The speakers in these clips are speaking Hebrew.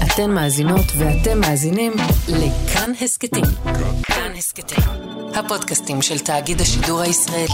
אתן מאזינות ואתם מאזינים לכאן הסקטים. כאן הסקטים, הפודקאסטים של תאגיד השידור הישראלי.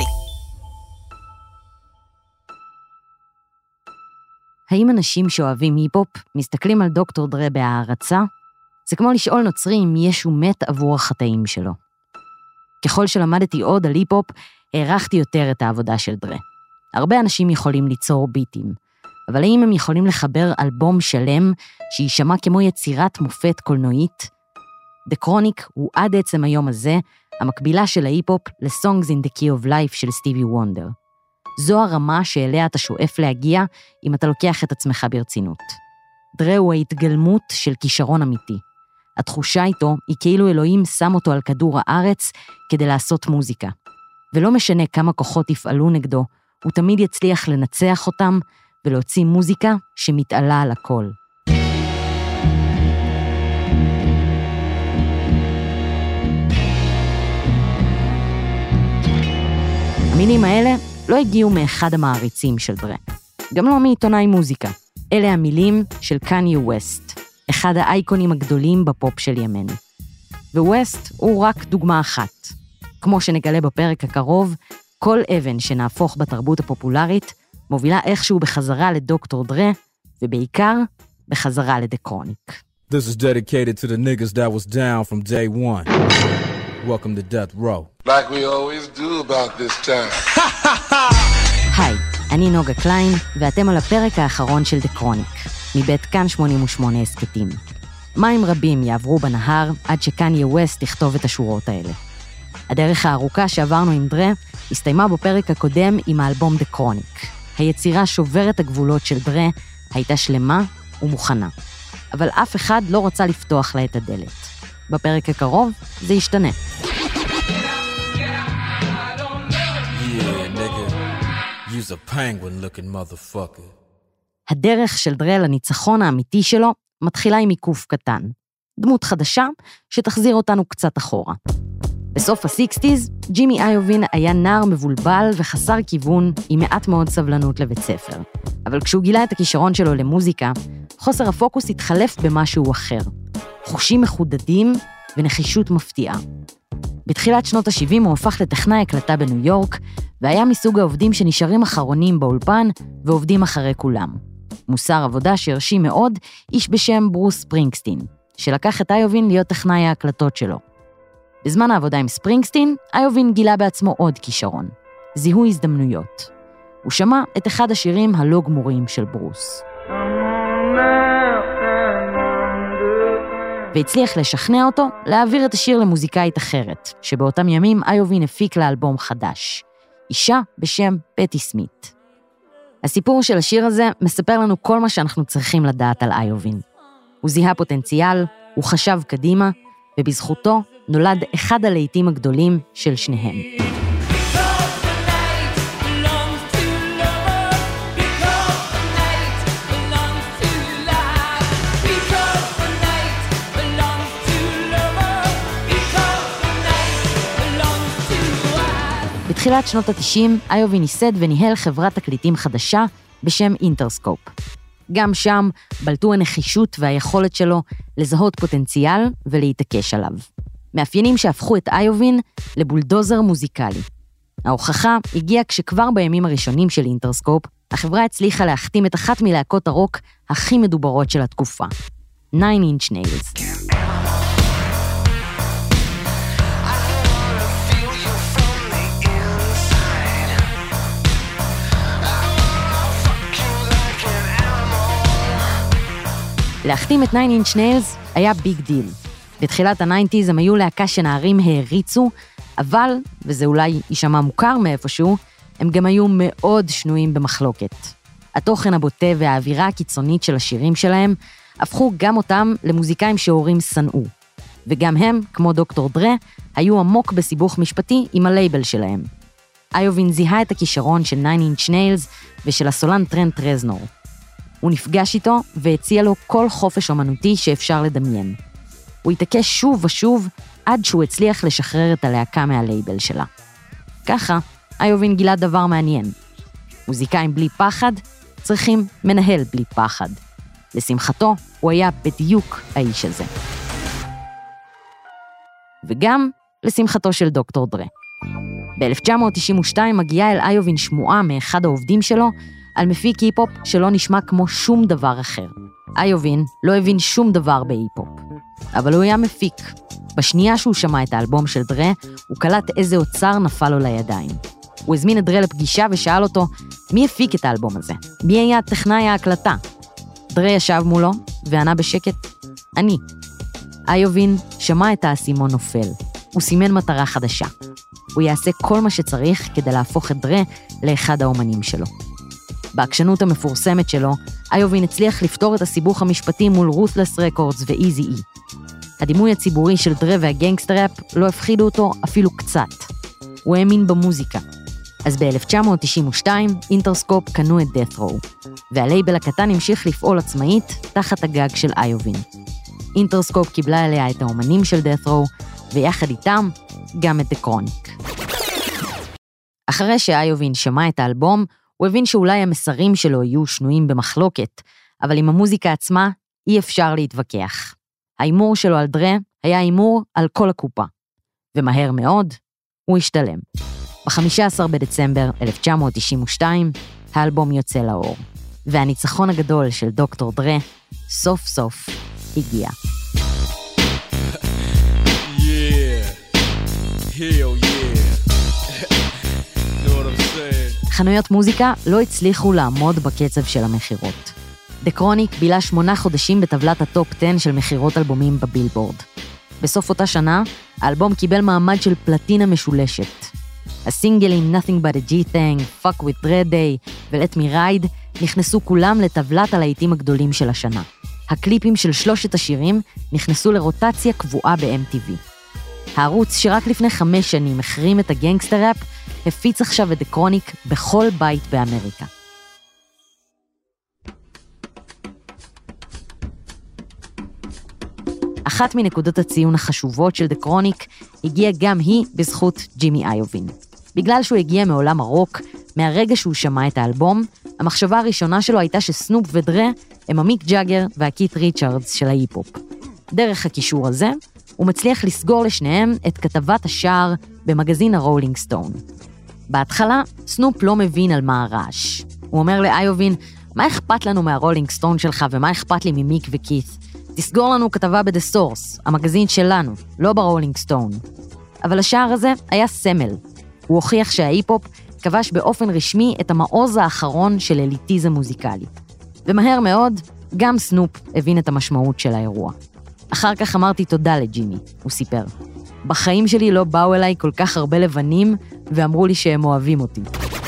האם אנשים שאוהבים היפ-הופ מסתכלים על דוקטור דרה בהערצה? זה כמו לשאול נוצרי אם ישו מת עבור החטאים שלו. ככל שלמדתי עוד על היפ-הופ, הערכתי יותר את העבודה של דרה. הרבה אנשים יכולים ליצור ביטים, אבל האם הם יכולים לחבר אלבום שלם שישמע כמו יצירת מופת קולנועית? The Chronic הוא עד עצם היום הזה המקבילה של ההיפ-הופ ל-Songs in the Key of Life של סטיבי וונדר. זו הרמה שאליה אתה שואף להגיע אם אתה לוקח את עצמך ברצינות. דרה הוא ההתגלמות של כישרון אמיתי. התחושה איתו היא כאילו אלוהים שם אותו על כדור הארץ כדי לעשות מוזיקה. ולא משנה כמה כוחות יפעלו נגדו, הוא תמיד יצליח לנצח אותם ולהוציא מוזיקה שמתעלה על הכל. המילים האלה לא הגיעו מאחד המעריצים של דרה. גם לא מעיתונאי מוזיקה. אלה המילים של קניה ווסט, אחד האייקונים הגדולים בפופ של ימינו. וווסט הוא רק דוגמה אחת. כמו שנגלה בפרק הקרוב, כל אבן שנהפוך בתרבות הפופולרית מובילה איכשהו בחזרה לדוקטור דרה, ובעיקר בחזרה ל-The Chronic. This is dedicated to the niggas that was down from day one. Welcome to Death Row. Like we always do about this time. היי, אני נוגה קליין, ואתם על הפרק האחרון של The Chronic, מבית כאן 88 הסקטים. מים רבים יעברו בנהר עד שקניה ווסט תכתוב את השורות האלה. הדרך הארוכה שעברנו עם דרה הסתיימה בפרק הקודם עם האלבום The Chronic. היצירה שוברת הגבולות של דרה הייתה שלמה ומוכנה. אבל אף אחד לא רצה לפתוח לה את הדלת. בפרק הקרוב זה ישתנה. You's a penguin looking motherfucker. הדרך של דרה לניצחון האמיתי שלו מתחילה עם עיקוף קטן. דמות חדשה שתחזיר אותנו קצת אחורה. בסוף ה-60s, ג'ימי איובין היה נער מבולבל וחסר כיוון עם מעט מאוד סבלנות לבית ספר. אבל כשהוא גילה את הכישרון שלו למוזיקה, חוסר הפוקוס התחלף במשהו אחר. חושים מחודדים ונחישות מפתיעה. בתחילת שנות ה-70 הוא הפך לטכנאי הקלטה בניו יורק, והיה מסוג העובדים שנשארים אחרונים באולפן ועובדים אחרי כולם. מוסר עבודה שהרשים מאוד איש בשם ברוס ספרינגסטין, שלקח את איובין להיות טכנאי ההקלטות שלו. בזמן העבודה עם ספרינגסטין, איובין גילה בעצמו עוד כישרון, זיהוי הזדמנויות. הוא שמע את אחד השירים הלא גמורים של ברוס. והצליח לשכנע אותו להעביר את השיר למוזיקאית אחרת, שבאותם ימים איובין הפיק לאלבום חדש, אישה בשם פטי סמית. הסיפור של השיר הזה מספר לנו כל מה שאנחנו צריכים לדעת על איובין. הוא זיהה פוטנציאל, הוא חשב קדימה, ובזכותו נולד אחד הלהיטים הגדולים של שניהם. בתחילת שנות ה-90, איובין ייסד וניהל חברת תקליטים חדשה בשם אינטרסקופ. גם שם בלטו הנחישות והיכולת שלו לזהות פוטנציאל ולהתעקש עליו. מאפיינים שהפכו את איובין לבולדוזר מוזיקלי. ההוכחה הגיעה כשכבר בימים הראשונים של אינטרסקופ, החברה הצליחה להחתים את אחת מלהקות הרוק הכי מדוברות של התקופה, 9 Inch Nails. להחתים את 9 Inch Nails היה ביג דיל. בתחילת ה-90s הם היו להקה שנערים העריצו, אבל, וזה אולי יישמע מוכר מאיפשהו, הם גם היו מאוד שנויים במחלוקת. התוכן הבוטה והאווירה הקיצונית של השירים שלהם הפכו גם אותם למוזיקאים שהורים שנאו. וגם הם, כמו דוקטור דרה, היו עמוק בסיבוך משפטי עם הלייבל שלהם. איובין זיהה את הכישרון של 9 Inch Nails ושל הסולן טרנט רזנור. הוא נפגש איתו והציע לו כל חופש אומנותי שאפשר לדמיין. הוא התעקש שוב ושוב עד שהוא הצליח לשחרר את הלהקה מהלייבל שלה. ככה, איובין גילה דבר מעניין. מוזיקאים בלי פחד צריכים מנהל בלי פחד. לשמחתו, הוא היה בדיוק האיש הזה. וגם לשמחתו של דוקטור דרה. ב-1992 מגיעה אל איובין שמועה מאחד העובדים שלו על מפיק היפ-הופ שלא נשמע כמו שום דבר אחר. איובין לא הבין שום דבר בהיפ-הופ, אבל הוא היה מפיק. בשנייה שהוא שמע את האלבום של דרה, הוא קלט איזה אוצר נפל לו לידיים. הוא הזמין את דרה לפגישה ושאל אותו, מי הפיק את האלבום הזה? מי היה טכנאי ההקלטה? דרה ישב מולו וענה בשקט, אני. איובין שמע את האסימון נופל. הוא סימן מטרה חדשה. הוא יעשה כל מה שצריך כדי להפוך את דרה לאחד האומנים שלו. בעקשנות המפורסמת שלו, איובין הצליח לפתור את הסיבוך המשפטי מול רות'לס רקורדס ואיזי-אי. הדימוי הציבורי של דרה והגנגסטר-ראפ לא הפחידו אותו אפילו קצת. הוא האמין במוזיקה. אז ב-1992 אינטרסקופ קנו את Death Row, והלייבל הקטן המשיך לפעול עצמאית תחת הגג של איובין. אינטרסקופ קיבלה עליה את האומנים של Death Row, ויחד איתם גם את דקרוניק. אחרי שאיובין שמע את האלבום, הוא הבין שאולי המסרים שלו יהיו שנויים במחלוקת, אבל עם המוזיקה עצמה אי אפשר להתווכח. האימור שלו על דרה היה אימור על כל הקופה, ומהר מאוד הוא השתלם. ב-15 בדצמבר 1992 האלבום יוצא לאור, והניצחון הגדול של דוקטור דרה סוף סוף הגיע. חנויות מוזיקה לא הצליחו לעמוד בקצב של המחירות. דקרוניק בילה 8 חודשים בטבלת הטופ 10 של מחירות אלבומים בבילבורד. בסוף אותה שנה, האלבום קיבל מעמד של פלטינה משולשת. הסינגלים Nothing But a G-Thing, Fuck With Dre Day ו-Let Me Ride נכנסו כולם לטבלת הלהיטים הגדולים של השנה. הקליפים של 3 השירים נכנסו לרוטציה קבועה ב-MTV. הערוץ שרק לפני 5 שנים החרים את הגנגסטר-ראפ, הפיץ עכשיו את דקרוניק בכל בית באמריקה. אחת מנקודות הציון החשובות של דקרוניק הגיעה גם היא בזכות ג'ימי איובין. בגלל שהוא הגיע מעולם הרוק, מהרגע שהוא שמע את האלבום, המחשבה הראשונה שלו הייתה שסנופ ודרה הם המיק ג'אגר והקית' ריצ'רדס של ההיפ-הופ. דרך הקישור הזה, הוא מצליח לסגור לשניהם את כתבת השער במגזין הרולינג סטון. בהתחלה, סנופ לא מבין על מה הרעש. הוא אומר לאיובין, מה אכפת לנו מהרולינג סטון שלך ומה אכפת לי ממיק וקית'? תסגור לנו כתבה ב-The Source, המגזין שלנו, לא ברולינג סטון. אבל השער הזה היה סמל. הוא הוכיח שההיפ-הופ כבש באופן רשמי את המעוז האחרון של אליטיזם מוזיקלי. ומהר מאוד, גם סנופ הבין את המשמעות של האירוע. אחר כך אמרתי תודה לג'ימי, הוא סיפר. בחיים שלי לא באו אליי כל כך הרבה לבנים, ואמרו לי שהם אוהבים אותי.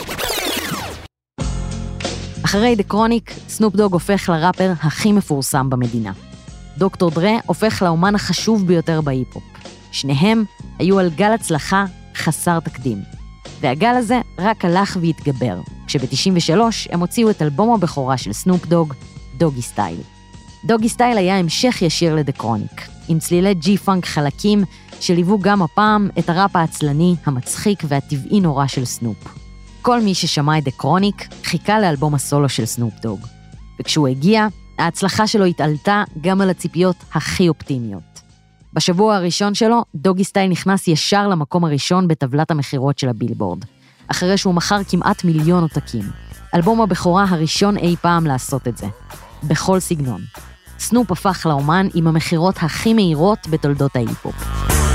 אחרי דקרוניק, סנופ דוג הופך לראפר הכי מפורסם במדינה. דוקטור דרה הופך לאומן החשוב ביותר בהיפ-הופ. שניהם היו על גל הצלחה חסר תקדים. והגל הזה רק הלך והתגבר, כשב-93 הם הוציאו את אלבום הבכורה של סנופ דוג, דוגי סטייל. דוגי סטייל היה המשך ישיר לדקרוניק, עם צלילי ג'י-פאנק חלקים שליוו גם הפעם את הראפ העצלני, המצחיק והטבעי נורא של סנופ. כל מי ששמע את דקרוניק חיכה לאלבום הסולו של סנופ דוג. וכשהוא הגיע, ההצלחה שלו התעלתה גם על הציפיות הכי אופטימיות. בשבוע הראשון שלו, דוגי סטייל נכנס ישר למקום הראשון בטבלת המחירות של הבילבורד, אחרי שהוא מכר כמעט 1,000,000 עותקים. אלבום הבכורה הראשון אי פעם לעשות את זה. בכל סגנון. סנופ הפך לאומן עם המחירות הכי מהירות בתולדות ההיפ-הופ.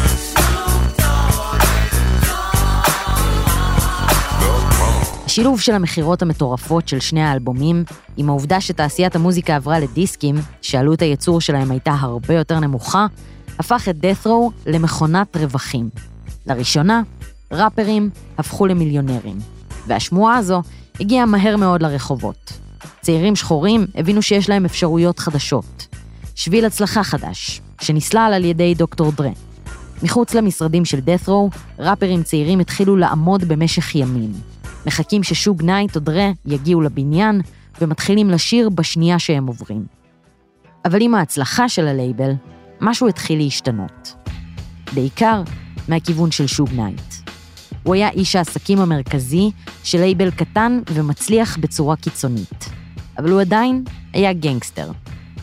השילוב של המחירות המטורפות של שני האלבומים, עם העובדה שתעשיית המוזיקה עברה לדיסקים, שעלות הייצור שלהם הייתה הרבה יותר נמוכה, הפך את Death Row למכונת רווחים. לראשונה, ראפרים הפכו למיליונרים, והשמועה הזו הגיעה מהר מאוד לרחובות. צעירים שחורים הבינו שיש להם אפשרויות חדשות. שביל הצלחה חדש, שנסלל על ידי דוקטור דרה. מחוץ למשרדים של Death Row, ראפרים צעירים התחילו לעמוד במשך ימים. מחכים ששוג נייט או דרה יגיעו לבניין, ומתחילים לשיר בשנייה שהם עוברים. אבל עם ההצלחה של הלייבל, משהו התחיל להשתנות. בעיקר מהכיוון של שוג נייט. הוא היה איש העסקים המרכזי של לייבל קטן ומצליח בצורה קיצונית. אבל הוא עדיין היה גנגסטר.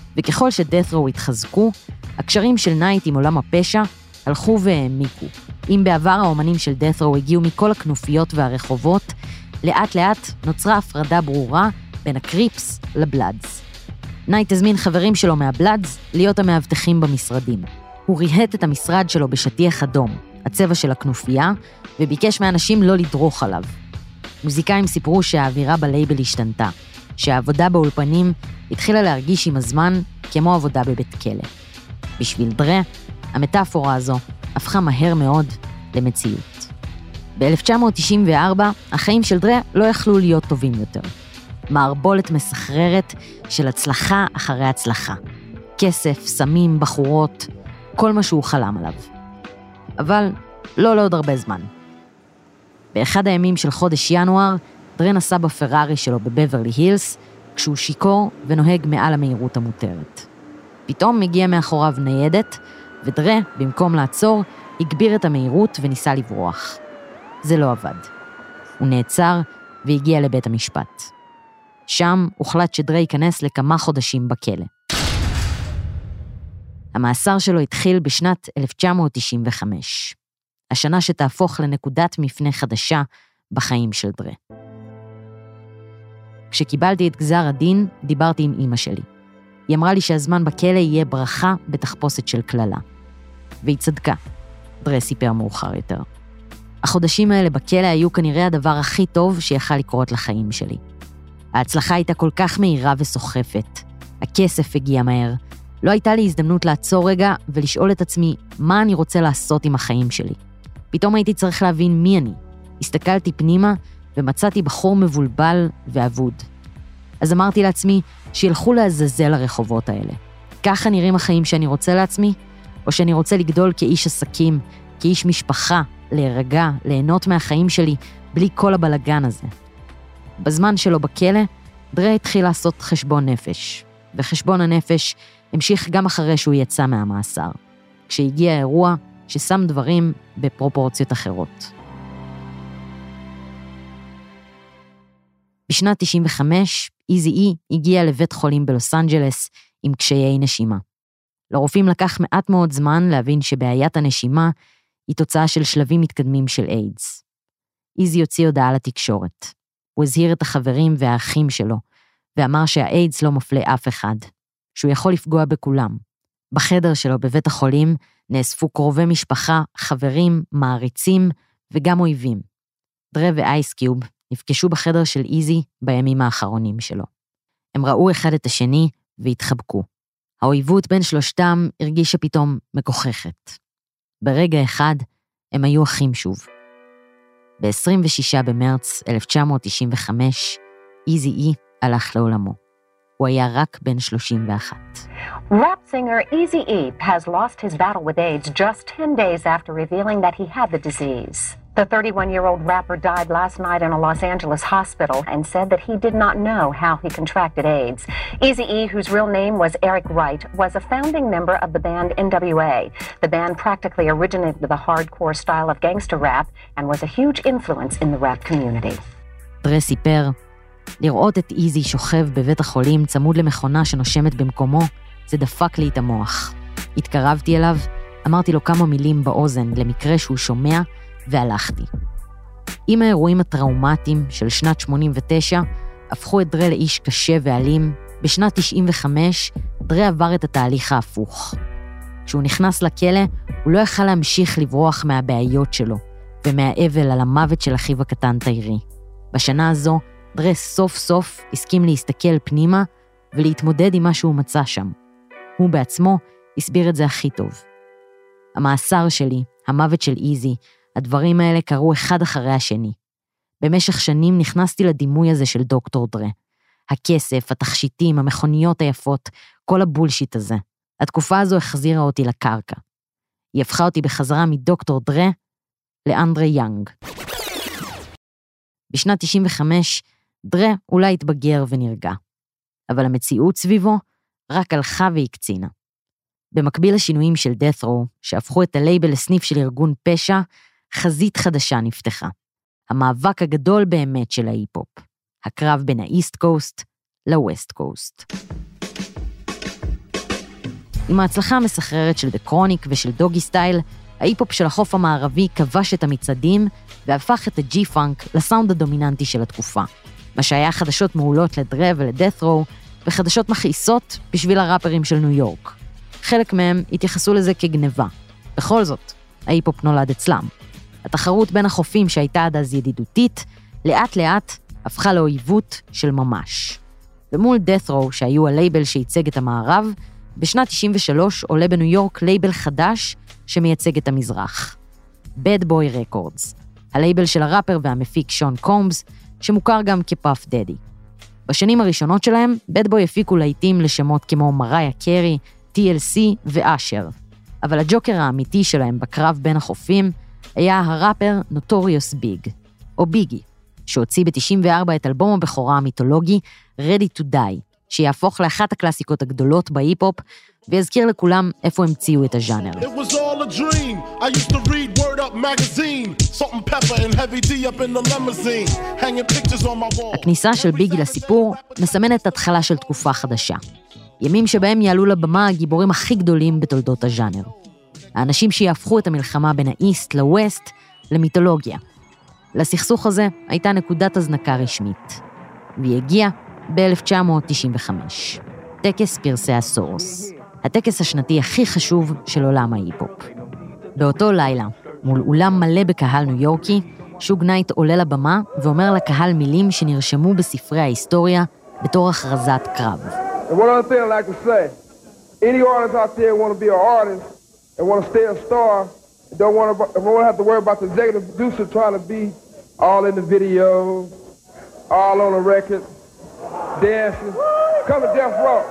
וככל שדת'רו התחזקו, הקשרים של נייט עם עולם הפשע הלכו והעמיקו. אם בעבר האומנים של דת'רו הגיעו מכל הכנופיות והרחובות, לאט לאט נוצרה הפרדה ברורה בין הקריפס לבלאדס. נייט הזמין חברים שלו מהבלאדס להיות המאבטחים במשרדים. הוא ריהט את המשרד שלו בשטיח אדום, הצבע של הכנופיה, וביקש מאנשים לא לדרוך עליו. מוזיקאים סיפרו שהאווירה בלייבל השתנתה, שהעבודה באולפנים התחילה להרגיש עם הזמן כמו עבודה בבית כלא. בשביל דרה, המטאפורה הזו הפכה מהר מאוד למציאות. ב-1994, החיים של דרה לא יכלו להיות טובים יותר. מערבולת מסחררת של הצלחה אחרי הצלחה. כסף, סמים, בחורות, כל מה שהוא חלם עליו. אבל לא לעוד הרבה זמן. באחד הימים של חודש ינואר, דרה נסע בפרארי שלו בבברלי הילס, כשהוא שיקור ונוהג מעל המהירות המותרת. פתאום מגיע מאחוריו ניידת, ודרה, במקום לעצור, הגביר את המהירות וניסה לברוח. זה לא עבד. הוא נעצר והגיע לבית המשפט. שם הוחלט שדרה ייכנס לכמה חודשים בכלא. המאסר שלו התחיל בשנת 1995, השנה שתהפוך לנקודת מפנה חדשה בחיים של דרה. כשקיבלתי את גזר הדין, דיברתי עם אמא שלי. היא אמרה לי שהזמן בכלא יהיה ברכה בתחפושת של כללה. והיא צדקה, דרה סיפר מאוחר יותר. החודשים האלה בכלא היו כנראה הדבר הכי טוב שיכל לקרות לחיים שלי. ההצלחה הייתה כל כך מהירה וסוחפת. הכסף הגיע מהר. לא הייתה לי הזדמנות לעצור רגע ולשאול את עצמי מה אני רוצה לעשות עם החיים שלי. פתאום הייתי צריך להבין מי אני. הסתכלתי פנימה ומצאתי בחור מבולבל ואבוד. אז אמרתי לעצמי שילכו לעזאזל הרחובות האלה. ככה נראים החיים שאני רוצה לעצמי, או שאני רוצה לגדול כאיש עסקים, כאיש משפחה, להירגע, ליהנות מהחיים שלי, בלי כל הבלגן הזה. בזמן שלו בכלא, דרה התחיל לעשות חשבון נפש, וחשבון הנפש המשיך גם אחרי שהוא יצא מהמאסר, כשהגיע האירוע ששם דברים בפרופורציות אחרות. בשנת 95, איזי הגיע לבית חולים בלוס אנג'לס עם קשיי נשימה. לרופאים לקח מעט מאוד זמן להבין שבעיית הנשימה היא תוצאה של שלבים מתקדמים של איידס. איזי הוציא הודעה לתקשורת. הוא הזהיר את החברים והאחים שלו, ואמר שהאיידס לא מפלה אף אחד, שהוא יכול לפגוע בכולם. בחדר שלו בבית החולים נאספו קרובי משפחה, חברים, מעריצים וגם אויבים. דרה ואייסקיוב נפגשו בחדר של איזי בימים האחרונים שלו. הם ראו אחד את השני והתחבקו. האויבות בין שלושתם הרגישה פתאום מגוחכת. ברגע אחד הם היו אחים שוב. ב-26 במרץ 1995, איזי הלך לעולמו. הוא היה רק בן 31. Rap singer Eazy-E has lost his battle with AIDS just 10 days after revealing that he had the disease. The 31-year-old rapper died last night in a Los Angeles hospital and said that he did not know how he contracted AIDS. Eazy-E, whose real name was Eric Wright, was a founding member of the band NWA. The band practically originated the hardcore style of gangster rap and was a huge influence in the rap community. דרה סיפר, לראות את איזי שוכב בבית החולים צמוד למכונה שנושמת במקומו, זה דפק לי את המוח. התקרבתי אליו, אמרתי לו כמה מילים באוזן למקרה שהוא שומע, והלכתי. עם האירועים הטראומטיים של שנת 89, הפכו את דרה לאיש קשה ואלים. בשנת 95, דרה עבר את התהליך ההפוך. כשהוא נכנס לכלא, הוא לא יכל להמשיך לברוח מהבעיות שלו, ומהאבל על המוות של אחיו הקטן תיירי. בשנה הזו, דרה סוף סוף הסכים להסתכל פנימה, ולהתמודד עם מה שהוא מצא שם. הוא בעצמו הסביר את זה הכי טוב. המאסר שלי, המוות של איזי, הדברים האלה קרו אחד אחרי השני. במשך שנים נכנסתי לדימוי הזה של דוקטור דרה. הכסף, התכשיטים, המכוניות היפות, כל הבולשיט הזה. התקופה הזו החזירה אותי לקרקע. היא הפכה אותי בחזרה מדוקטור דרה לאנדרה יאנג. בשנת 95, דרה אולי התבגר ונרגע. אבל המציאות סביבו רק הלכה והקצינה. במקביל לשינויים של דת'רו, שהפכו את הלייבל לסניף של ארגון פשע, חזית חדשה נפתחה. המאבק הגדול באמת של ההיפ-הופ. הקרב בין האיסט קוסט לווסט קוסט. עם ההצלחה המסחררת של דה קרוניק ושל דוגי סטייל, ההיפ-הופ של החוף המערבי כבש את המצעדים והפך את הג'י-פאנק לסאונד הדומיננטי של התקופה. מה שהיה חדשות מעולות לדרה ולדאת' רו, וחדשות מכעיסות בשביל הראפרים של ניו יורק. חלק מהם התייחסו לזה כגניבה. בכל זאת, ההיפ-הופ נולד אצלם. התחרות בין החופים שהייתה עד אז ידידותית, לאט לאט הפכה לאויבות של ממש. ומול דאת' רו, שהיו הלייבל שייצג את המערב, בשנת 93 עולה בניו יורק לייבל חדש שמייצג את המזרח. Bad Boy Records, הלייבל של הראפר והמפיק שון קומבס, שמוכר גם כפאף דדי. בשנים הראשונות שלהם, Bad Boy הפיקו להיטים לשמות כמו מריה קרי, TLC ואשר. אבל הג'וקר האמיתי שלהם בקרב בין החופים היה הראפר נוטוריוס ביג, או ביגי, שהוציא ב-94 את אלבום הבכורה המיתולוגי Ready to Die, שיהפוך לאחת הקלאסיקות הגדולות בהיפ-הופ, ויזכיר לכולם איפה המציאו את הז'אנר. הכניסה של ביגי לסיפור מסמנת התחלה של תקופה חדשה. ימים שבהם יעלו לבמה הגיבורים הכי גדולים בתולדות הז'אנר. האנשים שיהפכו את המלחמה בין האיסט לווסט למיתולוגיה. לסכסוך הזה הייתה נקודת הזנקה רשמית. והיא הגיעה ב-1995. טקס פרסי הסורוס. הטקס השנתי הכי חשוב של עולם ההיפ-הופ. באותו לילה, מול אולם מלא בקהל ניו יורקי, שוג נייט עולה לבמה ואומר לקהל מילים שנרשמו בספרי ההיסטוריה בתור הכרזת קרב. And one other thing I'd like to say, any artist out there want to be an artist and want to stay a star, don't want to have to worry about the executive producer trying to be all in the videos, all on the record, dancing, come to Death Row.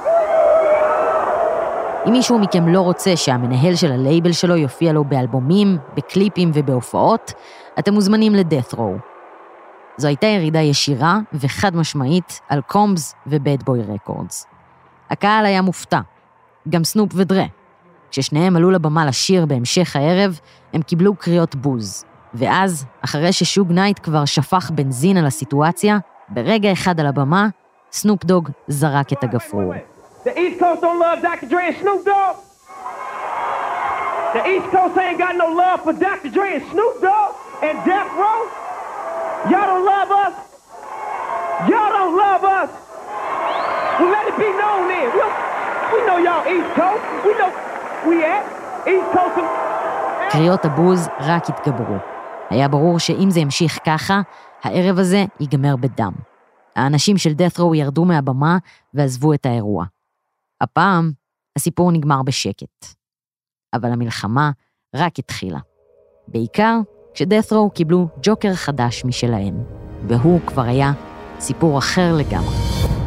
אם מישהו מכם לא רוצה שהמנהל של הלייבל שלו יופיע לו באלבומים, בקליפים ובהופעות, אתם מוזמנים לדאת' רו. זו הייתה ירידה ישירה וחד משמעית על קומבס ובד בוי רקורדס. הקהל היה מופתע, גם סנופ ודרה. כששניהם עלו לבמה לשיר בהמשך הערב, הם קיבלו קריאות בוז. ואז, אחרי ששוג נייט כבר שפך בנזין על הסיטואציה, ברגע אחד על הבמה, סנופ דוג זרק את הגפרור. The East Coast don't love Dr. Dre and Snoop Dogg. The East Coast ain't got no love for Dr. Dre and Snoop Dogg and Death Row. Y'all don't love us. Y'all don't love us. Well, let it be known then. We know y'all East Coast. We know we at East Coast. קריאות הבוז רק התגברו. היה ברור שאם זה ימשיך ככה, הערב הזה ייגמר בדם. האנשים של Death Row ירדו מהבמה ועזבו את האירוע. הפעם הסיפור נגמר בשקט. אבל המלחמה רק התחילה. בעיקר כשדאת' רו קיבלו ג'וקר חדש משלהם, והוא כבר היה סיפור אחר לגמרי.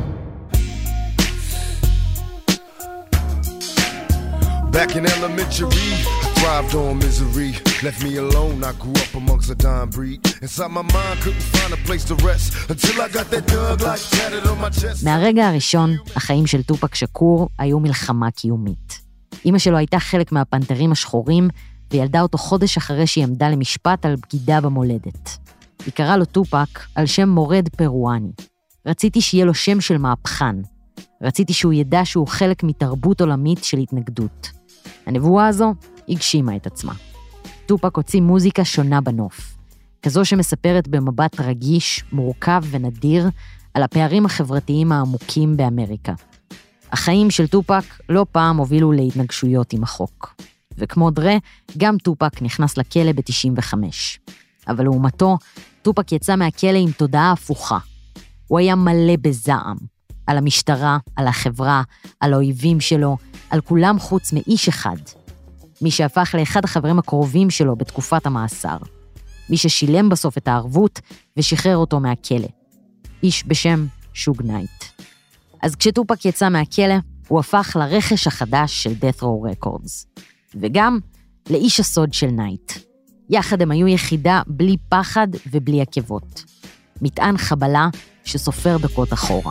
Back in elementary, I thrived on misery. Left me alone, I grew up amongst a dying breed. Inside my mind, couldn't find a place to rest until I got that dog like tatted on my chest. מהרגע הראשון, החיים של טופק שקור היו מלחמה קיומית. אמא שלו הייתה חלק מהפנתרים השחורים, וילדה אותו חודש אחרי שהיא עמדה למשפט על בגידה במולדת. היא קראה לו טופק על שם מורד פרואני. רציתי שיהיה לו שם של מהפכן. רציתי שהוא ידע שהוא חלק מתרבות עולמית של התנגדות. הנבואה הזו הגשימה את עצמה. טופק הוציא מוזיקה שונה בנוף, כזו שמספרת במבט רגיש, מורכב ונדיר על הפערים החברתיים העמוקים באמריקה. החיים של טופק לא פעם הובילו להתנגשויות עם החוק. וכמו דרה, גם טופק נכנס לכלא ב-95. אבל לעומתו, טופק יצא מהכלא עם תודעה הפוכה. הוא היה מלא בזעם. על המשטרה, על החברה, על האויבים שלו, על כולם חוץ מאיש אחד. מי שהפך לאחד החברים הקרובים שלו בתקופת המאסר. מי ששילם בסוף את הערבות ושחרר אותו מהכלא. איש בשם שוג נייט. אז כשטופק יצא מהכלא, הוא הפך לרכש החדש של Death Row Records. וגם לאיש הסוד של נייט. יחד הם היו יחידה בלי פחד ובלי עקבות. מטען חבלה שסופר דקות אחורה.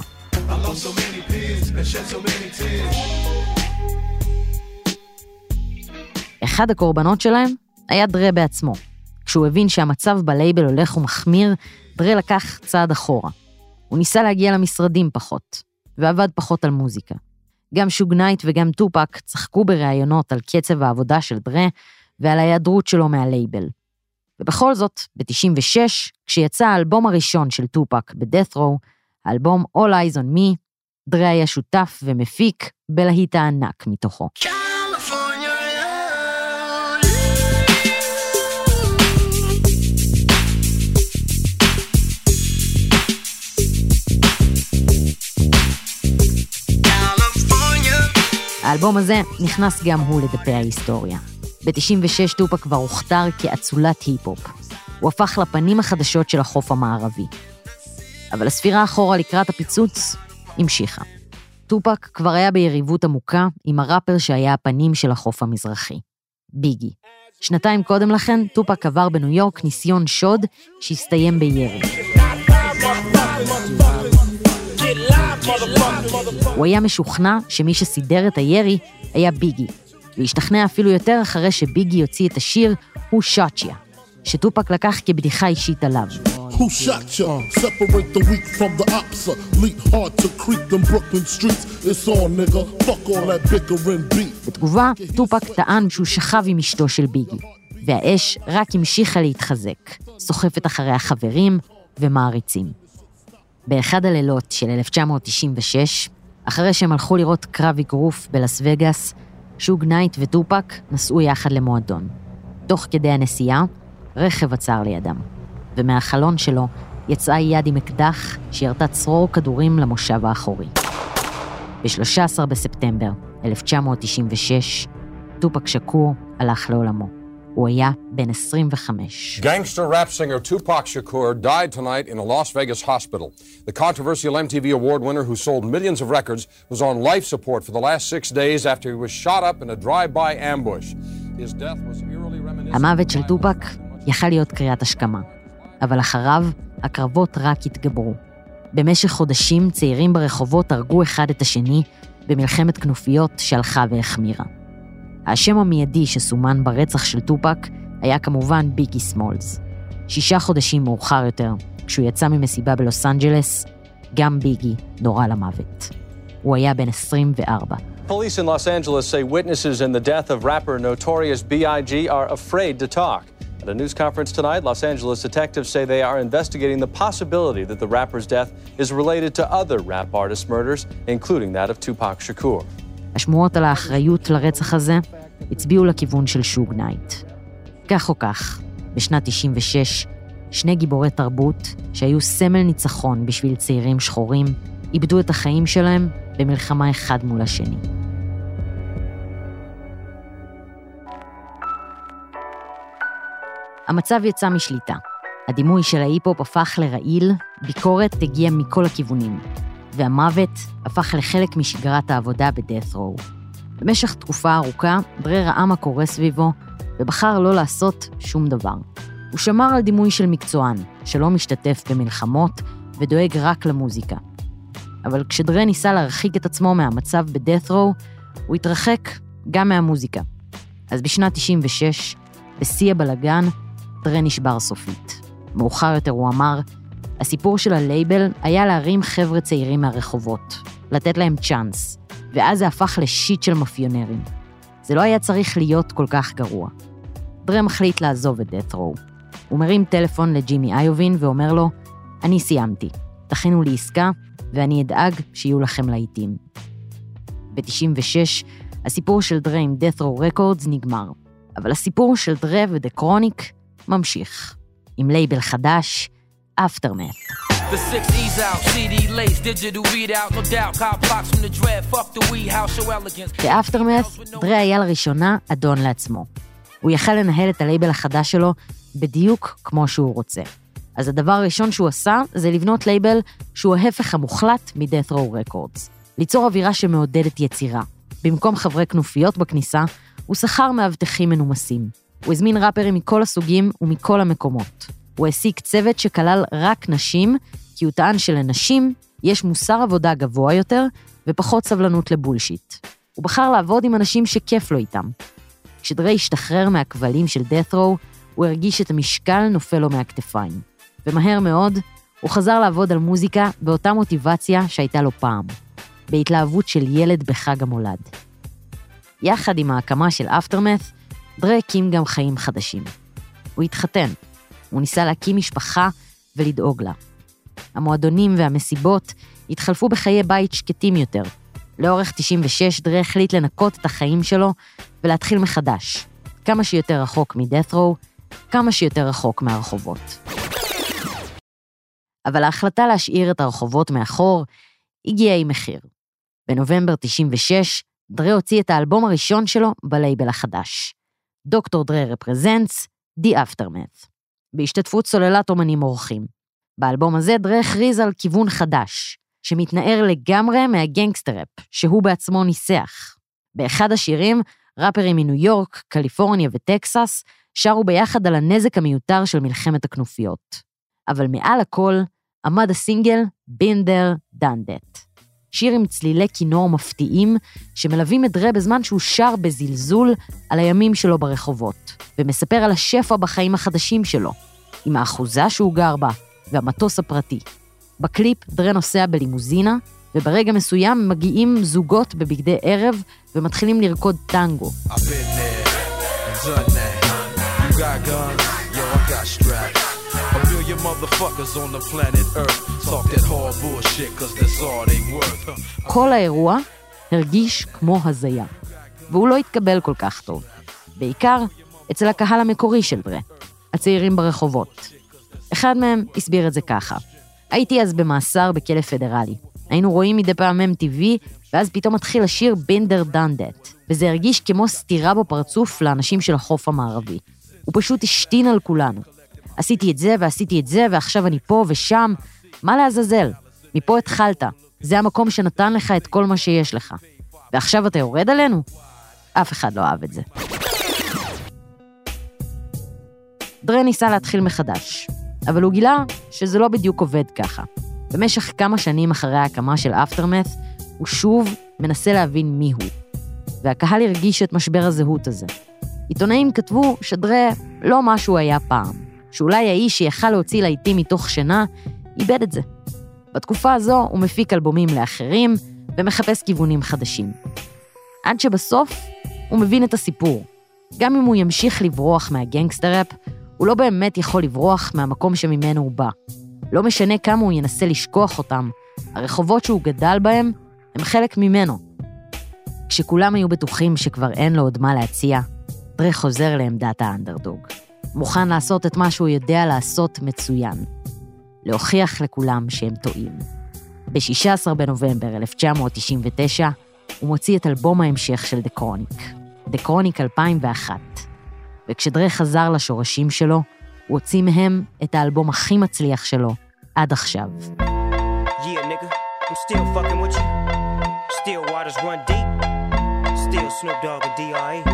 אחד הקורבנות שלהם היה דרה בעצמו. כשהוא הבין שהמצב בלייבל הולך ומחמיר, דרה לקח צעד אחורה. הוא ניסה להגיע למשרדים פחות, ועבד פחות על מוזיקה. גם שוג נייט וגם טופק צחקו בראיונות על קצב העבודה של דרה ועל ההיעדרות שלו מהלייבל. ובכל זאת, ב-96, כשיצא האלבום הראשון של טופק ב-Death Row, האלבום All Eyes on Me, דרה היה שותף ומפיק בלהיט הענק מתוכו. האלבום הזה נכנס גם הוא לדפי ההיסטוריה. ב-96 טופק כבר הוכתר כאצולת היפ-הופ. הוא הפך לפנים החדשות של החוף המערבי. אבל הספירה אחורה לקראת הפיצוץ המשיכה. טופק כבר היה ביריבות עמוקה עם הראפר שהיה הפנים של החוף המזרחי, ביגי. שנתיים קודם לכן, טופק עבר בניו יורק ניסיון שוד שהסתיים בירי. הוא היה משוכנע שמי שסידר את הירי היה ביגי, והשתכנע אפילו יותר אחרי שביגי יוציא את השיר "הוא שטיה", שטופק לקח כבדיחה אישית עליו. Who shot ya? Separate the weak from the opsa. Leap hard to creep them Brooklyn streets. It's on, nigga. Fuck all that bickering beef. בתגובה, טופק טען שהוא שכב עם אשתו של ביגי, והאש רק המשיכה להתחזק, סוחפת אחרי החברים ומעריצים. באחד הלילות של 1996, אחרי שהם הלכו לראות קרב אגרוף בלס וגאס, שוג נייט וטופק נסעו יחד למועדון. תוך כדי הנסיעה, רכב עצר לידם. ומהחלון שלו יצאה יד עם אקדח שירתה צרור כדורים למושב האחורי. ב-13 בספטמבר 1996, טופק שקור הלך לעולמו. הוא היה בן 25. Gangster rap singer Tupac Shakur died tonight in a Las Vegas hospital. The controversial MTV award winner who sold millions of records was on life support for the last 6 days after he was shot up in a drive-by ambush. His death was eerily reminiscent. המוות של טופק יכל להיות קריאת השכמה. אבל אחריו, הקרבות רק התגברו. במשך חודשים צעירים ברחובות הרגו אחד את השני במלחמת כנופיות שהלכה והחמירה. השם המיידי שסומן ברצח של טופק היה כמובן ביגי סמולס. 6 חודשים מאוחר יותר, כשהוא יצא ממסיבה בלוס אנג'לס, גם ביגי נורה למוות. הוא היה בן 24. Police in Los Angeles say witnesses in the death of rapper Notorious B.I.G. are afraid to talk. At a news conference tonight, Los Angeles detectives say they are investigating the possibility that the rapper's death is related to other rap artist murders, including that of Tupac Shakur. השמועות על האחריות לרצח הזה הצביעו לכיוון של שוג נייט. כך או כך, בשנת 96, 2 גיבורי תרבות שהיו סמל ניצחון בשביל צעירים שחורים, איבדו את החיים שלהם במלחמה אחד מול השני. המצב יצא משליטה. הדימוי של ההיפ-הופ הפך לרעיל, ביקורת הגיעה מכל הכיוונים, והמוות הפך לחלק משגרת העבודה ב-Death Row. במשך תקופה ארוכה, דרה ראה מה קורה סביבו, ובחר לא לעשות שום דבר. הוא שמר על דימוי של מקצוען, שלא משתתף במלחמות ודואג רק למוזיקה. אבל כשדרה ניסה להרחיק את עצמו מהמצב ב-Death Row, הוא התרחק גם מהמוזיקה. אז בשנת 96, בשיא הבלגן, דרה נשבר סופית. מאוחר יותר הוא אמר, הסיפור של הלייבל היה להרים חבר'ה צעירים מהרחובות, לתת להם צ'אנס, ואז זה הפך לשיט של מאפיונרים. זה לא היה צריך להיות כל כך גרוע. דרה מחליט לעזוב את Death Row. הוא מרים טלפון לג'ימי איובין ואומר לו, אני סיימתי, תכינו לי עסקה, ואני אדאג שיהיו לכם להיטים. ב-96, הסיפור של דרה עם Death Row Records נגמר, אבל הסיפור של דרה ודה קרוניק ממשיך, עם לייבל חדש, Aftermath. The 6E's out, CD lace, digital readout, no doubt, cop blocks from the dread, fuck the weed house, show elegance. ב-Aftermath, דרה היה לראשונה אדון לעצמו. הוא יכל לנהל את הלייבל החדש שלו בדיוק כמו שהוא רוצה. אז הדבר הראשון שהוא עשה, זה לבנות לייבל שהוא ההפך המוחלט מ-Death Row Records. ליצור אווירה שמעודדת יצירה. במקום חברי כנופיות בכניסה, הוא שכר מאבטחים מנומסים. הוא הזמין ראפרים מכל הסוגים ומכל המקומות. הוא העסיק צוות שכלל רק נשים, כי הוא טען שלנשים יש מוסר עבודה גבוה יותר ופחות סבלנות לבולשיט. הוא בחר לעבוד עם אנשים שכיף לו איתם. כשדרה השתחרר מהכבלים של Death Row, הוא הרגיש את המשקל נופל לו מהכתפיים. ומהר מאוד, הוא חזר לעבוד על מוזיקה באותה מוטיבציה שהייתה לו פעם. בהתלהבות של ילד בחג המולד. יחד עם ההקמה של Aftermath, דרה הקים גם חיים חדשים. הוא התחתן, הוא ניסה להקים משפחה ולדאוג לה. המועדונים והמסיבות התחלפו בחיי בית שקטים יותר. לאורך 96 דרה החליט לנקות את החיים שלו ולהתחיל מחדש. כמה שיותר רחוק מדאת' רו, כמה שיותר רחוק מהרחובות. אבל ההחלטה להשאיר את הרחובות מאחור הגיעה עם מחיר. בנובמבר 96, דרה הוציא את האלבום הראשון שלו בלייבל החדש. דוקטור דרה רפרזנטס, The Aftermath. בהשתתפות סוללת אומנים אורחים. באלבום הזה דרה הכריז על כיוון חדש, שמתנער לגמרי מהגנגסטראפ, שהוא בעצמו ניסח. באחד השירים, ראפרים מניו יורק, קליפורניה וטקסס, שרו ביחד על הנזק המיותר של מלחמת הכנופיות. אבל מעל הכל, עמד הסינגל Been There, Done That. שיר עם צלילי כינור מפתיעים, שמלווים את דרה בזמן שהוא שר בזלזול על הימים שלו ברחובות, ומספר על השפע בחיים החדשים שלו, עם האחוזה שהוא גר בה, והמטוס הפרטי. בקליפ דרה נוסע בלימוזינה, וברגע מסוים מגיעים זוגות בבגדי ערב, ומתחילים לרקוד טנגו. כל האירוע הרגיש כמו הזיה, והוא לא התקבל כל כך טוב. בעיקר אצל הקהל המקורי של דרה, הצעירים ברחובות. אחד מהם הסביר את זה ככה. הייתי אז במאסר בכלא פדרלי. היינו רואים מדי פעם MTV, ואז פתאום מתחיל לשיר Been There, Done That, וזה הרגיש כמו סתירה בפרצוף לאנשים של החוף המערבי. הוא פשוט השתין על כולנו. עשיתי את זה ועשיתי את זה, ועכשיו אני פה ושם. מה לעזאזל? מפה התחלת. זה המקום שנתן לך את כל מה שיש לך. ועכשיו אתה יורד עלינו? אף אחד לא אהב את זה. דרה ניסה להתחיל מחדש, אבל הוא גילה שזה לא בדיוק עובד ככה. במשך כמה שנים אחרי ההקמה של Aftermath, הוא שוב מנסה להבין מי הוא. והקהל הרגיש את משבר הזהות הזה. עיתונאים כתבו שדרה לא מה שהוא היה פעם, שאולי האיש שיכל להוציא לעיתים מתוך שינה, איבד את זה. בתקופה הזו הוא מפיק אלבומים לאחרים, ומחפש כיוונים חדשים. עד שבסוף הוא מבין את הסיפור. גם אם הוא ימשיך לברוח מהגנגסטראפ, הוא לא באמת יכול לברוח מהמקום שממנו הוא בא. לא משנה כמה הוא ינסה לשכוח אותם, הרחובות שהוא גדל בהם הם חלק ממנו. כשכולם היו בטוחים שכבר אין לו עוד מה להציע, דרה חוזר לעמדת האנדרדוג. מוכן לעשות את מה שהוא יודע לעשות מצוין. להוכיח לכולם שהם טועים. ב-16 בנובמבר 1999, הוא מוציא את אלבום ההמשך של The Chronic, The Chronic 2001. וכשדרה חזר לשורשים שלו, הוא הוציא מהם את האלבום הכי מצליח שלו עד עכשיו. Yeah, nigga, I'm still fucking with you. Still waters run deep. Still Snoop Dogg and D.R.E.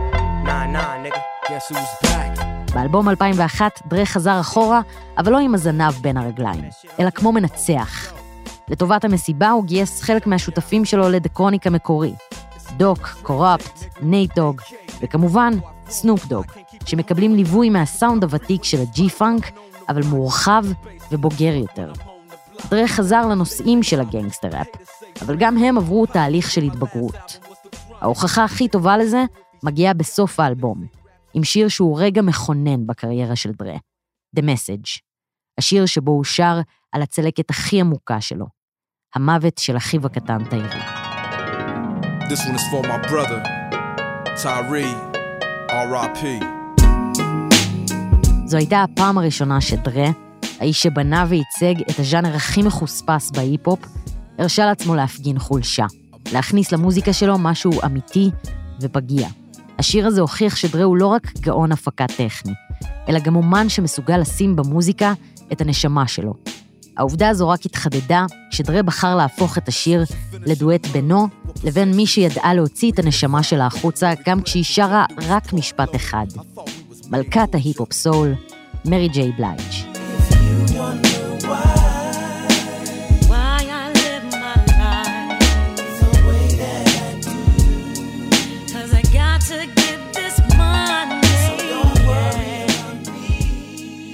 Nah, nigga. Guess who's back? באלבום 2001 דרה חזר אחורה, אבל לא עם הזנב בין הרגליים, אלא כמו מנצח. לטובת המסיבה הוא גייס חלק מהשותפים שלו ל-The Chronic המקורי. דוק, קורפט, נייט דוג, וכמובן סנופ דוג, שמקבלים ליווי מהסאונד הוותיק של הג'י-פאנק, אבל מורחב ובוגר יותר. דרה חזר לנושאים של הגנגסטראפ, אבל גם הם עברו תהליך של התבגרות. ההוכחה הכי טובה לזה מגיעה בסוף האלבום, עם שיר שהוא רגע מכונן בקריירה של דרה, The Message, השיר שבו הוא שר על הצלקת הכי עמוקה שלו, המוות של אחיו הקטן טיירי. This one is for my brother, Tyree, R.I.P. זו הייתה הפעם הראשונה שדרה, האיש שבנה וייצג את הז'אנר הכי מחוספס בהיפ-הופ, הרשה לעצמו להפגין חולשה, להכניס למוזיקה שלו משהו אמיתי ופגיע. השיר הזה הוכיח שדרה הוא לא רק גאון הפקה טכני, אלא גם אומן שמסוגל לשים במוזיקה את הנשמה שלו. העובדה הזו רק התחדדה כשדרה בחר להפוך את השיר לדואט בינו לבין מי שידעה להוציא את הנשמה שלה החוצה גם כשהיא שרה רק משפט אחד. מלכת ההיפ-הופ סול, מרי ג'יי בלייג'.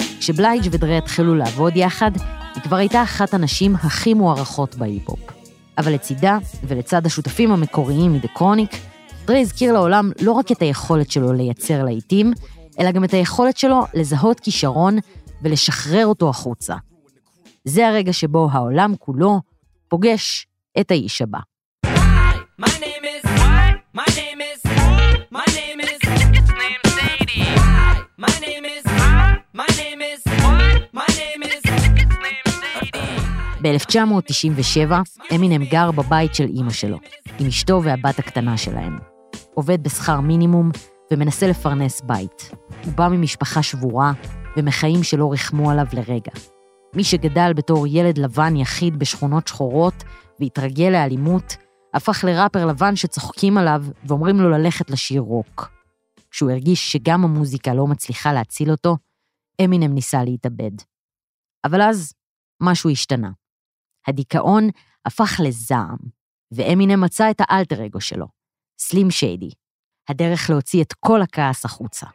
כשבלייג' ודרה התחילו לעבוד יחד, היא כבר הייתה אחת הנשים הכי מוערכות בהיפ-הופ. אבל לצידה ולצד השותפים המקוריים מדה קרוניק, דרה הזכיר לעולם לא רק את היכולת שלו לייצר להיטים, אלא גם את היכולת שלו לזהות כישרון ולשחרר אותו החוצה. זה הרגע שבו העולם כולו פוגש את האיש הבא. ב-1997 אמינם גר בבית של אמא שלו, עם אשתו והבת הקטנה שלהם. עובד בשכר מינימום ומנסה לפרנס בית. הוא בא ממשפחה שבורה ומחיים שלא רחמו עליו לרגע. מי שגדל בתור ילד לבן יחיד בשכונות שחורות והתרגל לאלימות, הפך לראפר לבן שצוחקים עליו ואומרים לו ללכת לשיר רוק. כשהוא הרגיש שגם המוזיקה לא מצליחה להציל אותו, אמינם ניסה להתאבד. אבל אז משהו השתנה. הדיכאון הפך לזעם, ואמינם מצא את האלטר אגו שלו, סלים שיידי, הדרך להוציא את כל הכעס החוצה.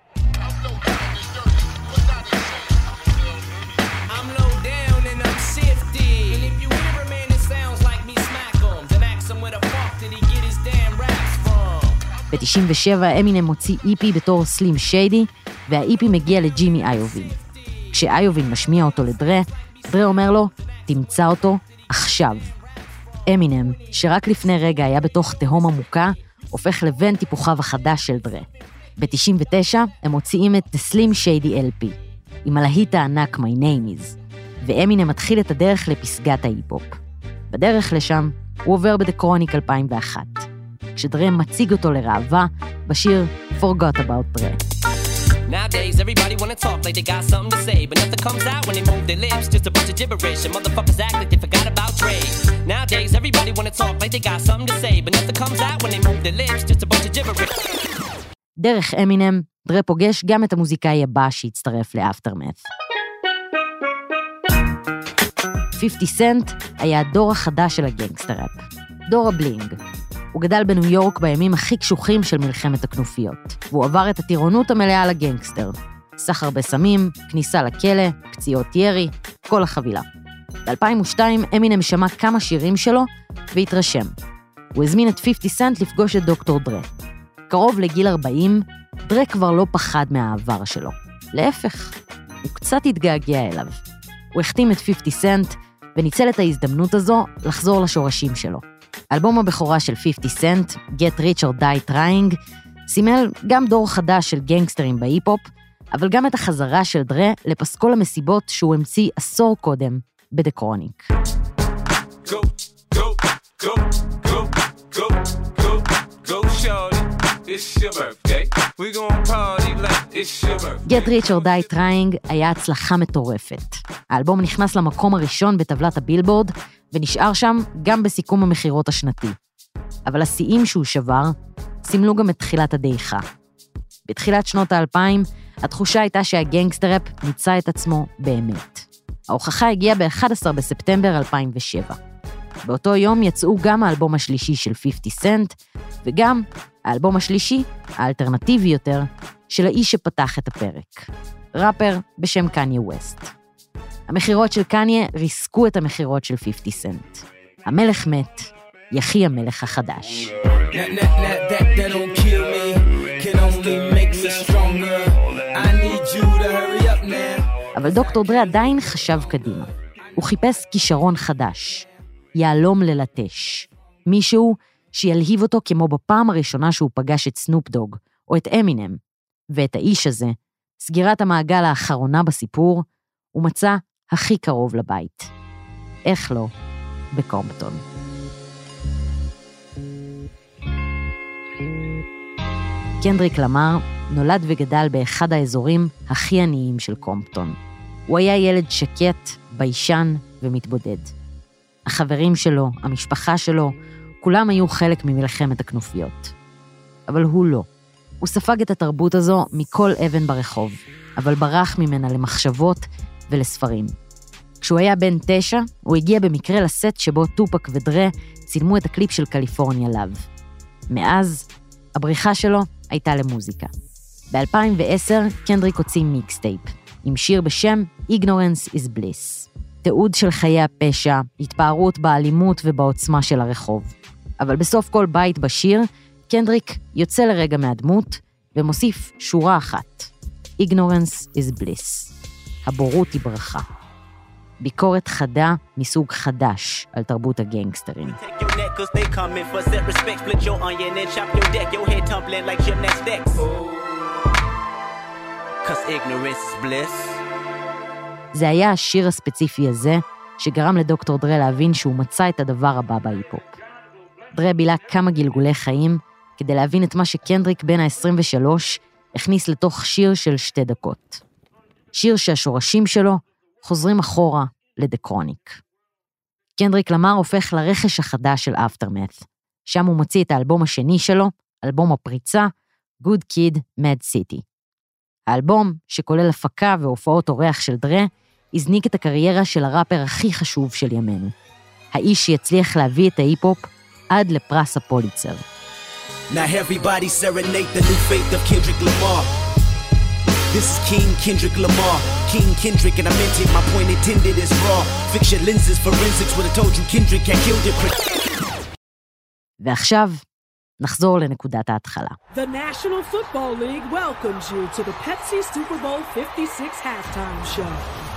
ב-97 אמינם מוציא איפי בתור סלים שיידי, והאיפי מגיע לג'ימי איובין. כשאיובין משמיע אותו לדרה, דרה אומר לו, תמצא אותו עכשיו. אמינם, שרק לפני רגע היה בתוך תהום עמוקה, הופך לבן טיפוחיו החדש של דרה. ב-99 הם מוציאים את The Slim Shady LP, עם הלהיט הענק My Name Is, ואמינם מתחיל את הדרך לפסגת ההיפ-הופ. בדרך לשם הוא עובר בדה קרוניק 2001, כשדרה מציג אותו לראווה בשיר Forgot About Dre. Nowadays, everybody wanna talk like they got something to say, but nothing comes out when they move their lips, just a bunch of gibberish, and motherfuckers act like they forgot about Dre. Nowadays, everybody wanna talk like they got something to say, but nothing comes out when they move their lips, just a bunch of gibberish. דרך אמינם, דרה פוגש גם את המוזיקאי הבא שהצטרף לאפטרמת'. 50 סנט היה הדור החדש של הגנגסטראפ, דור הבלינג. הוא גדל בניו יורק בימים הכי קשוחים של מלחמת הכנופיות, והוא עבר את הטירונות המלאה לגנגסטר. סחר בסמים, כניסה לכלא, פציעות ירי, כל החבילה. ב-2002 אמינם שמע כמה שירים שלו והתרשם. הוא הזמין את 50 סנט לפגוש את דוקטור דרה. קרוב לגיל 40, דרה כבר לא פחד מהעבר שלו. להפך, הוא קצת התגעגע אליו. הוא החתים את 50 סנט וניצל את ההזדמנות הזו לחזור לשורשים שלו. אלבום הבכורה של 50 סנט, Get Rich or Die Trying, סימל גם דור חדש של גנגסטרים בהיפ-הופ, אבל גם את החזרה של דרה לפסקול המסיבות שהוא המציא עשור קודם בדה קרוניק. Get Rich or Die Trying היה הצלחה מטורפת. האלבום נכנס למקום הראשון בטבלת הבילבורד, ונשאר שם גם בסיכום המחירות השנתי. אבל השיאים שהוא שבר, סימלו גם את תחילת הדעיכה. בתחילת שנות ה-2000, התחושה הייתה שהגנגסטראפ ניצה את עצמו באמת. ההוכחה הגיעה ב-11 בספטמבר 2007. באותו יום יצאו גם האלבום השלישי של 50 סנט, וגם האלבום השלישי, האלטרנטיבי יותר, של האיש שפתח את הפרק. ראפר בשם קניה ווסט. המחירות של קניה ריסקו את המחירות של 50 סנט. המלך מת, יחי המלך החדש. אבל דוקטור דרה עדיין חשב קדימה. הוא חיפש כישרון חדש, יעלום ללטש. מישהו שילהיב אותו כמו בפעם הראשונה שהוא פגש את סנופ דוג, או את אמינם. ואת האיש הזה, סגירת המעגל האחרונה בסיפור, הוא מצא הכי קרוב לבית. איך לא? בקומפטון. קנדריק למר נולד וגדל באחד האזורים הכי עניים של קומפטון. הוא היה ילד שקט, ביישן ומתבודד. החברים שלו, המשפחה שלו, כולם היו חלק ממלחמת הכנופיות. אבל הוא לא. הוא ספג את התרבות הזו מכל אבן ברחוב, אבל ברח ממנה למחשבות ולספרים. כשהוא היה בן 9, הוא הגיע במקרה לסט שבו טופק ודרה צילמו את הקליפ של קליפורניה לאב. מאז, הבריחה שלו הייתה למוזיקה. ב-2010, קנדריק הוציא מיקסטייפ, עם שיר בשם Ignorance is Bliss. תיעוד של חיי הפשע, התפארות באלימות ובעוצמה של הרחוב. אבל בסוף כל בית בשיר, קנדריק יוצא לרגע מהדמות ומוסיף שורה אחת. Ignorance is bliss. הבורות היא ברכה. ביקורת חדה מסוג חדש על תרבות הגנגסטרים. זה היה השיר הספציפי הזה שגרם לדוקטור דרה להבין שהוא מצא את הדבר הבא בהיפ-הופ. דרה בילה כמה גלגולי חיים כדי להבין את מה שקנדריק בן ה-23 הכניס לתוך שיר של 2 דקות. שיר שהשורשים שלו חוזרים אחורה לדקרוניק. קנדריק למר הופך לרכש החדש של Aftermath. שם הוא מוציא את האלבום השני שלו, אלבום הפריצה, Good Kid, Mad City. האלבום, שכולל הפקה והופעות אורח של דרה, הזניק את הקריירה של הראפר הכי חשוב של ימינו. האיש שיצליח להביא את ההיפ-הופ עד לפרס הפוליצר. Now everybody serenade the new faith of Kendrick Lamar. This is King Kendrick Lamar. King Kendrick and I meant it, my point intended is raw. Fiction lenses, forensics would have told you Kendrick had killed it. ועכשיו נחזור לנקודת ההתחלה. The National Football League welcomes you to the Pepsi Super Bowl 56 halftime show.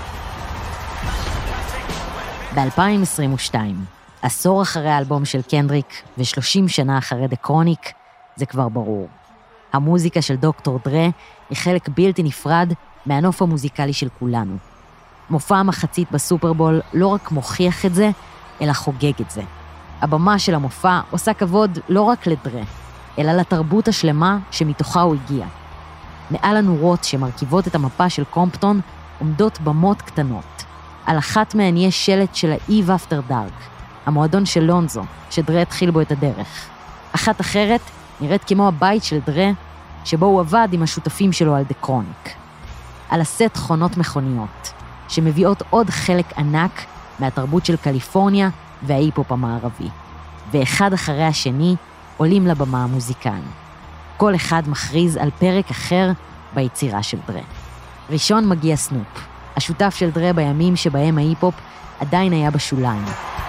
ב-2022, עשור אחרי האלבום של קנדריק ו30 שנה אחרי דקרוניק, זה כבר ברור. המוזיקה של דוקטור דרה היא חלק בלתי נפרד מהנוף המוזיקלי של כולנו. מופע המחצית בסופרבול לא רק מוכיח את זה, אלא חוגג את זה. הבמה של המופע עושה כבוד לא רק לדרה, אלא לתרבות השלמה שמתוכה הוא הגיע. מעל הנורות שמרכיבות את המפה של קומפטון עומדות במות קטנות. על אחת מהן יש שלט של ה-Eve After Dark, המועדון של לונזו, שדרה התחיל בו את הדרך. אחת אחרת נראית כמו הבית של דרה, שבו הוא עבד עם השותפים שלו על דקרוניק. על הסט חונות מכוניות, שמביאות עוד חלק ענק מהתרבות של קליפורניה וההיפ-הופ המערבי. ואחד אחרי השני עולים לבמה המוזיקאים. כל אחד מכריז על פרק אחר ביצירה של דרה. ראשון מגיע סנופ, השותף של דרה בימים שבהם ההיפ-הופ עדיין היה בשוליים.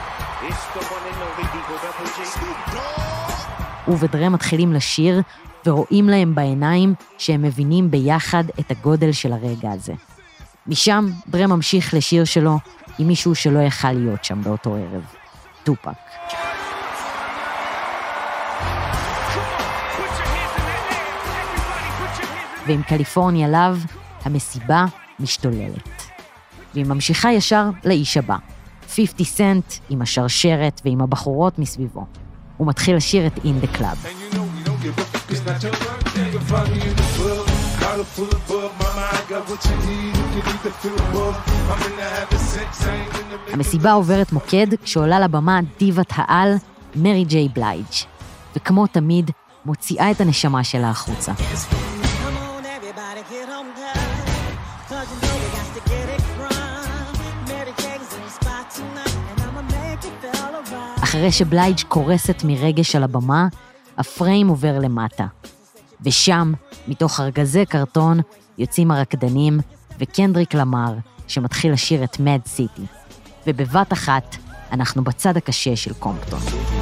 הוא ודרה מתחילים לשיר ורואים להם בעיניים שהם מבינים ביחד את הגודל של הרגע הזה. משם דרה ממשיך לשיר שלו עם מישהו שלא יכל להיות שם באותו ערב, טופק. ועם קליפורניה לאב, המסיבה משתוללת. והיא ממשיכה ישר לאיש הבא, 50 סנט עם השרשרת ועם הבחורות מסביבו. הוא מתחיל לשיר את In the Club. המסיבה עוברת מוקד כשעולה לבמה דיבת העל מרי ג'יי בלייג', וכמו תמיד מוציאה את הנשמה שלה החוצה. אחרי שבלייג' קורסת מרגש על הבמה, הפריים עובר למטה. ושם, מתוך ארגזי קרטון, יוצאים הרקדנים וקנדריק למר, שמתחיל לשיר את Mad City. ובבת אחת, אנחנו בצד הקשה של קומפטון.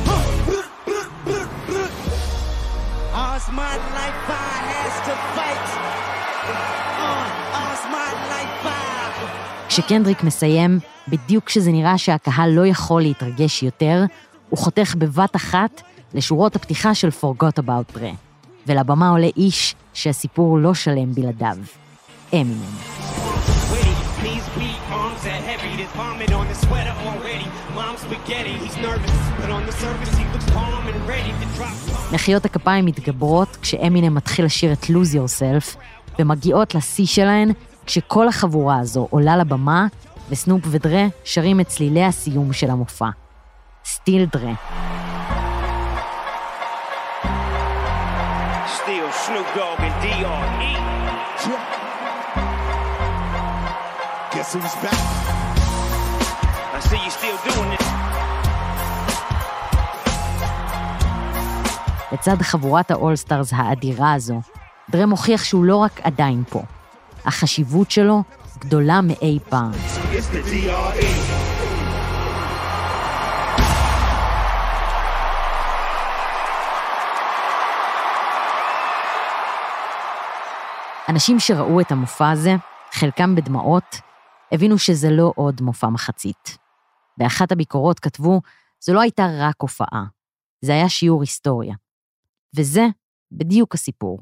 כשקנדריק מסיים, בדיוק כשזה נראה שהקהל לא יכול להתרגש יותר, הוא חותך בבת אחת לשורות הפתיחה של Forgot About Dre. ולבמה עולה איש שהסיפור לא שלם בלעדיו. אמינם. מחיאות הכפיים מתגברות כשאמינם מתחיל לשיר את Lose Yourself, ומגיעות לשיא שלהן כשכל החבורה הזו עולה לבמה, וסנופ ודרה שרים את צלילי הסיום של המופע. סטיל דרה. Still Snoop Dogg and D.R.E. Guess who's back? I see you still doing it. לצד חבורת האול-סטארס האדירה הזו, דרה מוכיח שהוא לא רק עדיין פה. החשיבות שלו גדולה מאי פעם. אנשים שראו את המופע הזה, חלקם בדמעות, הבינו שזה לא עוד מופע מחצית. באחת הביקורות כתבו, זו לא הייתה רק הופעה, זה היה שיעור היסטוריה. וזה בדיוק הסיפור.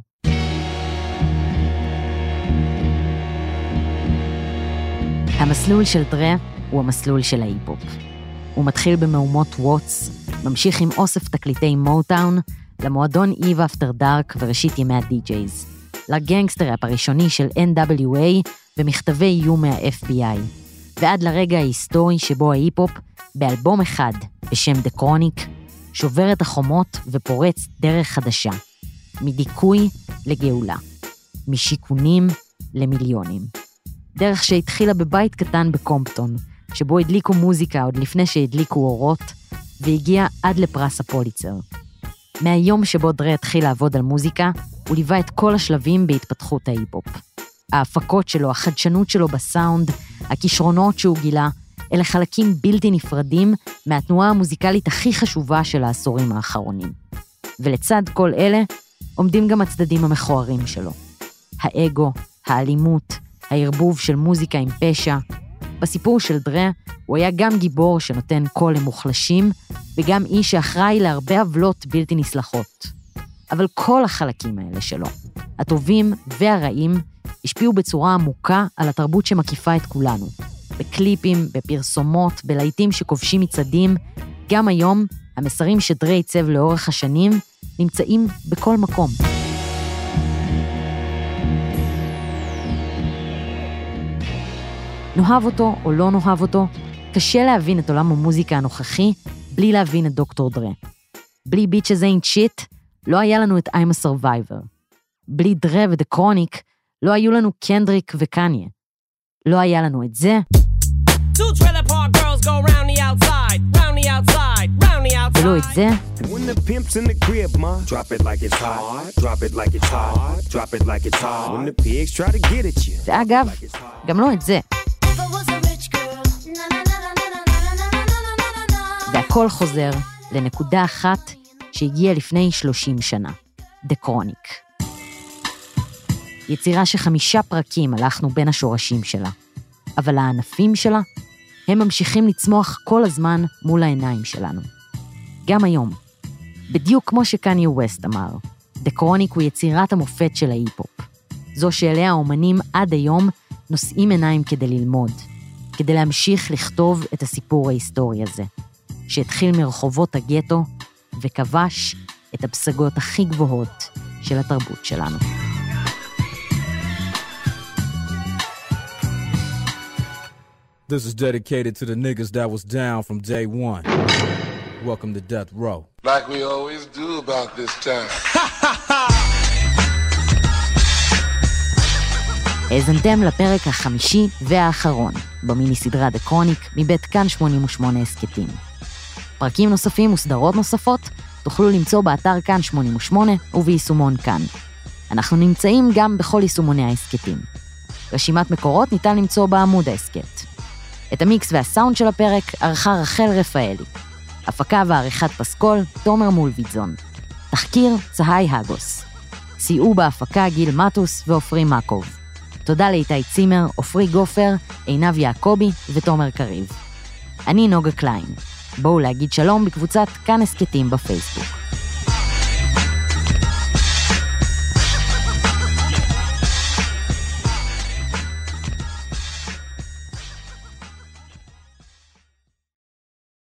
המסלול של דרה הוא המסלול של ההיפ-הופ. הוא מתחיל במהומות ווטס, ממשיך עם אוסף תקליטי מוטאון, למועדון איב אפטר דארק וראשית ימי הדי-ג'ייז, לגנגסטר-ראפ הראשוני של NWA ומכתבי איום מה-FBI, ועד לרגע ההיסטורי שבו ההיפ-הופ, באלבום אחד בשם The Chronic, שובר את החומות ופורץ דרך חדשה, מדיכוי לגאולה, משיכונים למיליונים. דרך שהתחילה בבית קטן בקומפטון, שבו הדליקו מוזיקה עוד לפני שהדליקו אורות, והגיע עד לפרס הפוליצר. מהיום שבו דרה התחיל לעבוד על מוזיקה, הוא ליווה את כל השלבים בהתפתחות ההיפ-הופ. ההפקות שלו, החדשנות שלו בסאונד, הכישרונות שהוא גילה, אלה חלקים בלתי נפרדים מהתנועה המוזיקלית הכי חשובה של העשורים האחרונים. ולצד כל אלה, עומדים גם הצדדים המכוערים שלו. האגו, האלימות, הערבוב של מוזיקה עם פשע. בסיפור של דרה, הוא היה גם גיבור שנותן קול למוחלשים, וגם איש שאחראי להרבה עוולות בלתי נסלחות. אבל כל החלקים האלה שלו, הטובים והרעים, השפיעו בצורה עמוקה על התרבות שמקיפה את כולנו. בקליפים, בפרסומות, בלהיטים שכובשים מצדים, גם היום, המסרים שדרה עיצב לאורך השנים, נמצאים בכל מקום. נאהב אותו או לא נאהב אותו, קשה להבין את עולם המוזיקה הנוכחי, בלי להבין את דוקטור דרה. בלי Bitches Ain't Shit, לא היה לנו את I'm a Survivor. בלי דרה ודה קרוניק, לא היו לנו קנדריק וקניה. לא היה לנו את זה. ולא את זה. ואגב, גם לא את זה. והכל חוזר לנקודה אחת שהגיעה לפני 30 שנה. The Chronic. יצירה ש5 פרקים הלכנו בין השורשים שלה. אבל הענפים שלה, הם ממשיכים לצמוח כל הזמן מול העיניים שלנו. גם היום. בדיוק כמו שקניה ווסט אמר, The Chronic הוא יצירת המופת של ההיפ-הופ. זו שאליה האומנים עד היום נושאים עיניים כדי ללמוד, כדי להמשיך לכתוב את הסיפור ההיסטורי הזה, שהתחיל מרחובות הגטו וכבש את הפסגות הכי גבוהות של התרבות שלנו. This is dedicated to the niggas that was down from day one. Welcome to Death Row. Like we always do about this time. האזנתם לפרק החמישי והאחרון, במיני סדרה The Chronic מבית כאן 88 הסקטים. פרקים נוספים וסדרות נוספות תוכלו למצוא באתר כאן 88 וביישומון כאן. אנחנו נמצאים גם בכל יישומוני ההסקטים. רשימת מקורות ניתן למצוא בעמוד ההסקט. את המיקס והסאונד של הפרק ערכה רחל רפאלי. הפקה ועריכת פסקול, תומר מולביטזון. תחקיר, צהי הגוס. סייעו בהפקה גיל מטוס ואופרי מקוב. תודה לאיתי צימר, אופרי גופר, עינב יעקובי ותומר קריב. אני נוגה קליין. בואו להגיד שלום בקבוצת כאן הסקטים בפייסבוק.